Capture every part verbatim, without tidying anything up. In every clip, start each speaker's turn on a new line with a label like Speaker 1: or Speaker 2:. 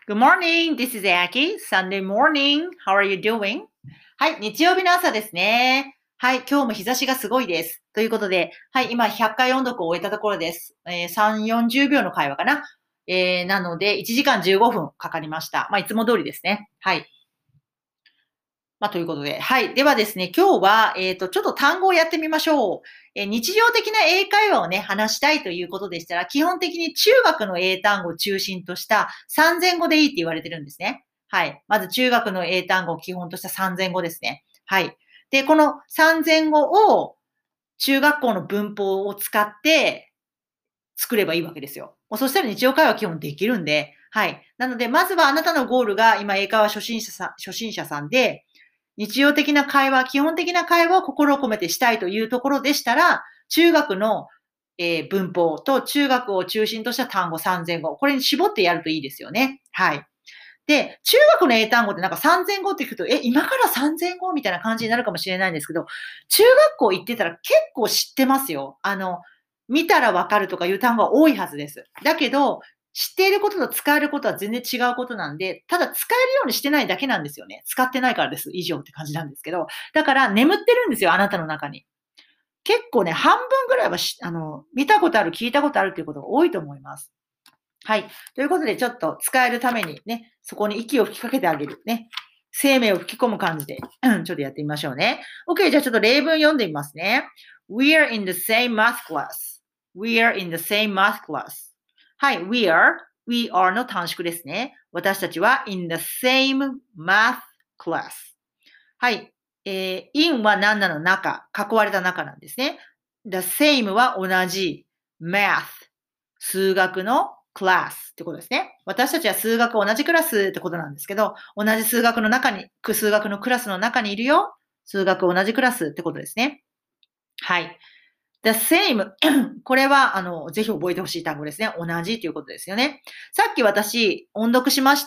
Speaker 1: Good morning. This is Aki. Sunday morning. How are you doing? はい、日曜日の朝ですね。はい、今日も日差しがすごいです。ということで、はい、今ひゃっかい音読を終えたところです。えー、さん、よんじゅうびょうの会話かな。えー、なので、いちじかんじゅうごふんかかりました。まあ、いつも通りですね。はい。まあ、ということで。はい。ではですね、今日は、えっ、と、ちょっと単語をやってみましょう。えー日常的な英会話をね、話したいということでしたら、基本的に中学の英単語を中心としたさんぜん語でいいって言われてるんですね。はい。まず中学の英単語を基本としたさんぜん語ですね。はい。で、このさんぜん語を中学校の文法を使って作ればいいわけですよ。もうそしたら日常会話基本できるんで、はい。なので、まずはあなたのゴールが今英会話初心者さん、初心者さんで、日常的な会話、基本的な会話を心を込めてしたいというところでしたら、中学の、えー文法と中学を中心とした単語さんぜん語、これに絞ってやるといいですよね。はい。で、中学の英単語ってなんかさんぜん語って聞くと、え、今からさんぜん語みたいな感じになるかもしれないんですけど、中学校行ってたら結構知ってますよ。あの、見たらわかるとかいう単語が多いはずです。だけど、知っていることと使えることは全然違うことなんで、ただ使えるようにしてないだけなんですよね。使ってないからです。以上って感じなんですけど。だから眠ってるんですよ、あなたの中に。結構ね、半分ぐらいはしあの、見たことある、聞いたことあるっていうことが多いと思います。はい。ということで、ちょっと使えるためにね、そこに息を吹きかけてあげる。ね。生命を吹き込む感じで、うんちょっとやってみましょうね。OK、じゃあちょっと例文読んでみますね。We're in the same math class.We're in the same math class. はい、we are, we are の短縮ですね。私たちは in the same math class. はい。えー、in は何なの中、囲われた中なんですね。the same は同じ、math 数学のクラスってことですね。私たちは数学同じクラスってことなんですけど、同じ数学の中に、数学のクラスの中にいるよ。数学同じクラスってことですね。はい。the same これは、あの、ぜひ覚えてほしい単語ですね。同じということですよね。さっき私、音読しました。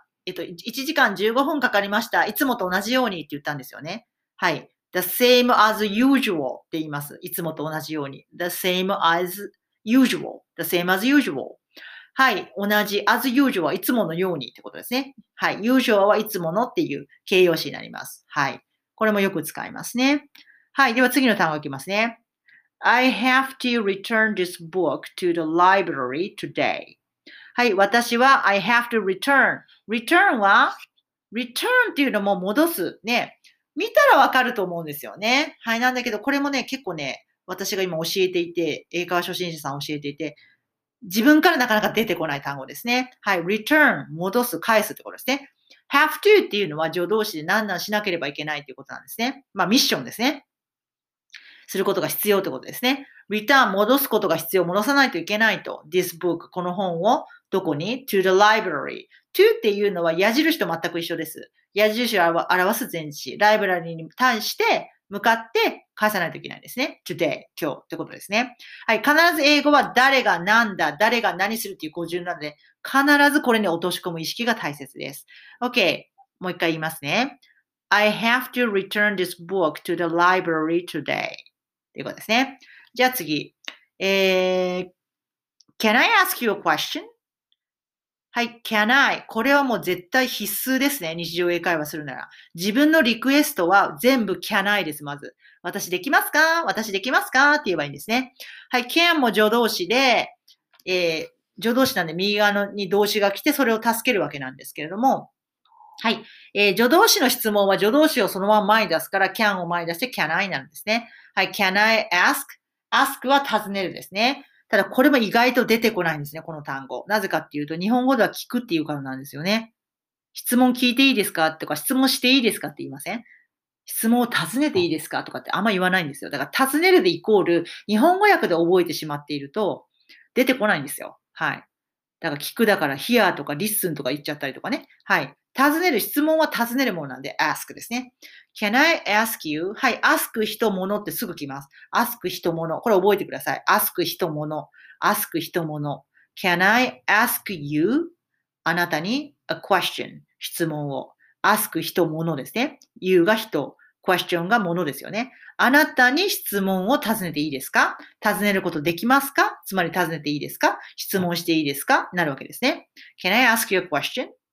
Speaker 1: えっと、いちじかんじゅうごふんかかりました。いつもと同じようにって言ったんですよね。はい。the same as usual って言います。いつもと同じように。the same as usual. the same as usual. はい。同じ as usual はいつものようにってことですね。はい。usual はいつものっていう形容詞になります。はい。これもよく使いますね。はい。では次の単語いきますね。I have to return this book to the library today. はい。私は I have to return. return は return っていうのも戻す。ね。見たらわかると思うんですよね。はい。なんだけど、これもね、結構ね、私が今教えていて、英会話初心者さん教えていて、自分からなかなか出てこない単語ですね。はい。return、戻す、返すってことですね。have to っていうのは助動詞で何々しなければいけないっていうことなんですね。まあ、ミッションですね。することが必要ってことですね。return、戻すことが必要、戻さないといけないと。this book、この本をどこに ?to the library。to っていうのは矢印と全く一緒です。矢印を表す前置詞。ライブラリに対して向かって返さないといけないですね。today、今日ってことですね。はい。必ず英語は誰が何だ、誰が何するっていう語順なので、必ずこれに落とし込む意識が大切です。OK。もう一回言いますね。I have to return this book to the library today. ということですね。じゃあ次。えー、Can I ask you a question? はい、can I? これはもう絶対必須ですね。日常英会話するなら。自分のリクエストは全部 can I です、まず。私できますか私できますかって言えばいいんですね。はい、can も助動詞で、えー、助動詞なんで右側のに動詞が来てそれを助けるわけなんですけれども、はい。えー、助動詞の質問は助動詞をそのまま前に出すから can を前に出して can I なんですね。はい。can I ask?ask は尋ねるですね。ただこれも意外と出てこないんですね、この単語。なぜかっていうと、日本語では聞くっていうからなんですよね。質問聞いていいですかとか、質問していいですかって言いません？質問を尋ねていいですかとかってあんま言わないんですよ。だから尋ねるでイコール、日本語訳で覚えてしまっていると、出てこないんですよ。はい。だから聞くだから hear とか listen とか言っちゃったりとかね。はい。尋ねる、質問は尋ねるものなんで ask ですね。can I ask you? はい。ask 人物ってすぐ来ます。ask 人物。これ覚えてください。ask 人物。ask 人物。can I ask you? あなたに a question 質問を。ask 人物ですね。you が人。question が物ですよね。あなたに質問を尋ねていいですか？尋ねることできますか？つまり尋ねていいですか？質問していいですか？なるわけですね。Can I ask you a question?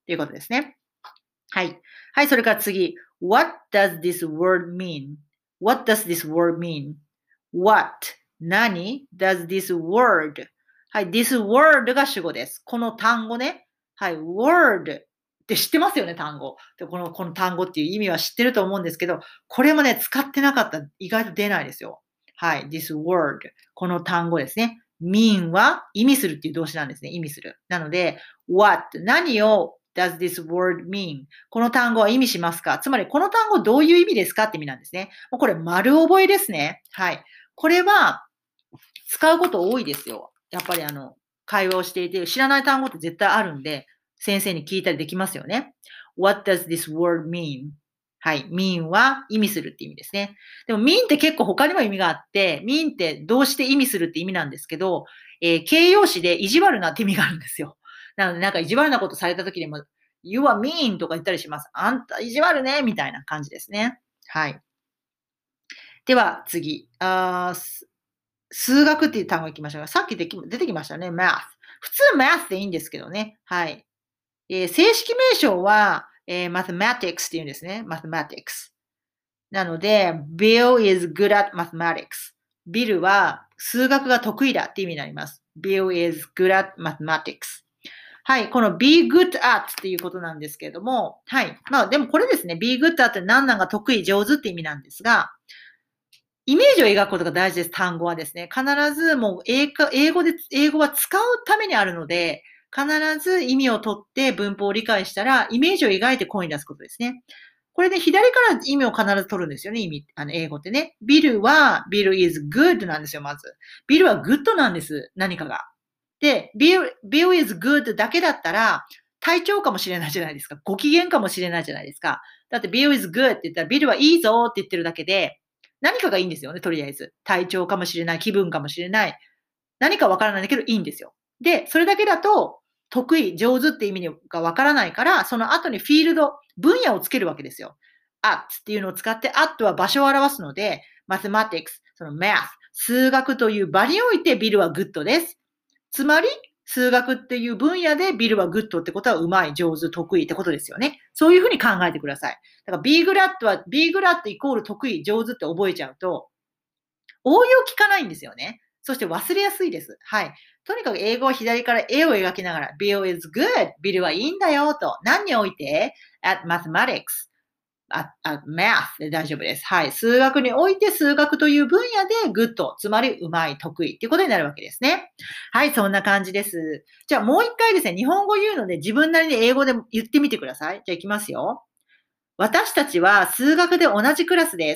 Speaker 1: ということですね。はい。はい、それから次。What does this word mean?What does this word mean?What? 何 does this word? はい、this word が主語です。この単語ね。はい、word って知ってますよね、単語。でこの、この単語っていう意味は知ってると思うんですけど、これもね、使ってなかったら意外と出ないですよ。はい、this word。この単語ですね。mean は意味するっていう動詞なんですね。意味する。なので、what? 何を does this word mean? この単語は意味しますか？つまり、この単語どういう意味ですかって意味なんですね。もうこれ丸覚えですね。はい。これは使うこと多いですよ。やっぱりあの、会話をしていて、知らない単語って絶対あるんで、先生に聞いたりできますよね。What does this word mean? はい。mean は意味するって意味ですね。でも mean って結構他にも意味があって、mean ってどうして意味するって意味なんですけど、えー、形容詞で意地悪なって意味があるんですよ。なのでなんか意地悪なことされた時にも、You are mean とか言ったりします。あんた意地悪ねみたいな感じですね。はい。では次。あ数学っていう単語いきましょう。さっきでき出てきましたね。math。普通 math でいいんですけどね。はい。えー、正式名称は、えー、mathematics って言うんですね。mathematics。なので、Bill is good at mathematics。ビルは数学が得意だって意味になります。Bill is good at mathematics。はい。この be good at っていうことなんですけれども、はい。まあでもこれですね。be good at って何々が得意、上手って意味なんですが、イメージを描くことが大事です、単語はですね。必ずもう英語で、英語は使うためにあるので、必ず意味を取って文法を理解したら、イメージを描いて声に出すことですね。これで、ね、左から意味を必ず取るんですよね、意味、あの、英語ってね。ビルは、ビル is good なんですよ、まず。ビルは good なんです、何かが。で、ビル、ビル is good だけだったら、体調かもしれないじゃないですか。ご機嫌かもしれないじゃないですか。だって、ビル is good って言ったら、ビルはいいぞって言ってるだけで、何かがいいんですよね、とりあえず。体調かもしれない、気分かもしれない。何かわからないんだけどいいんですよ。で、それだけだと、得意、上手って意味がわからないから、その後にフィールド、分野をつけるわけですよ。at っていうのを使って、at は場所を表すので、mathematics、その math、数学という場においてビルはグッドです。つまり、数学っていう分野でビルはグッドってことはうまい、上手、得意ってことですよね。そういうふうに考えてください。だから be glad は be glad イコール得意、上手って覚えちゃうと、応用聞かないんですよね。そして忘れやすいです。はい。とにかく英語は左から絵を描きながら、Bill is good. ビルはいいんだよと。何において at mathematics.at math で大丈夫です。はい。数学において数学という分野で good。つまりうまい、得意っていうことになるわけですね。はい。そんな感じです。じゃあもう一回ですね、日本語言うので自分なりに英語で言ってみてください。じゃあ行きますよ。私たちは数学で同じクラスです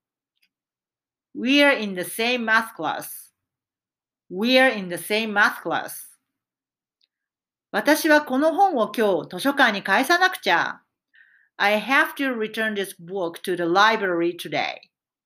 Speaker 1: 。We are in the same math class.We are in the same math class. 私はこの本を今日図書館に返さなくちゃ。I have to return this book to the library today.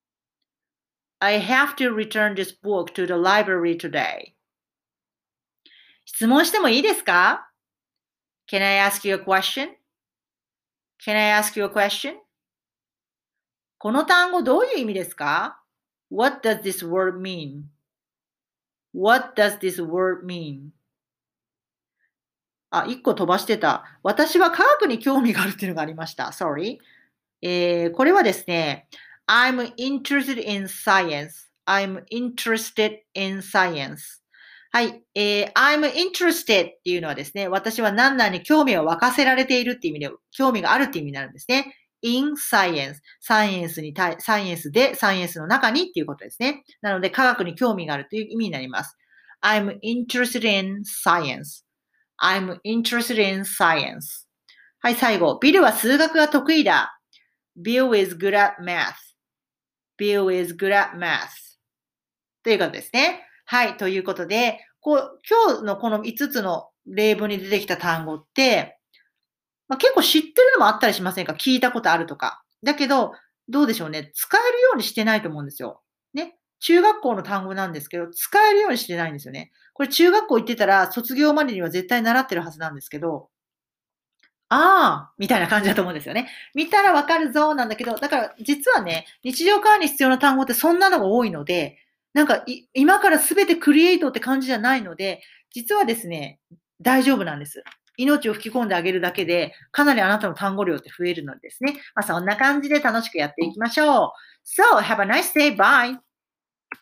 Speaker 1: I have to return this book to the library today. 質問してもいいですか？ Can I ask you a question? Can I ask you a question? この単語どういう意味ですか？ What does this word mean?What does this word mean? あ、一個飛ばしてた。私は科学に興味があるっていうのがありました。Sorry. えー、これはですね、I'm interested in science. I'm interested in science. はい。えー、I'm interested っていうのはですね、私は何々に興味を沸かせられているっていう意味で、興味があるっていう意味になるんですね。in science. サイエンスに対、サイエンスで、サイエンスの中にっていうことですね。なので、科学に興味があるという意味になります。I'm interested in science.I'm interested in science. はい、最後。ビルは数学が得意だ。Bill is good at math.Bill is good at math. ということですね。はい、ということで、こう今日のこのいつつの例文に出てきた単語って、まあ、結構知ってるのもあったりしませんか？聞いたことあるとか。だけど、どうでしょうね。使えるようにしてないと思うんですよ。ね。中学校の単語なんですけど、使えるようにしてないんですよね。これ中学校行ってたら、卒業までには絶対習ってるはずなんですけど、ああ、みたいな感じだと思うんですよね。見たらわかるぞなんだけど、だから実はね、日常会話に必要な単語ってそんなのが多いので、なんか今からすべてクリエイトって感じじゃないので、実はですね、大丈夫なんです。 命を吹き込んであげるだけで、かなりあなたの単語量って増えるのですね。まあ、そんな感じで楽しくやっていきましょう。So, have a nice day. Bye!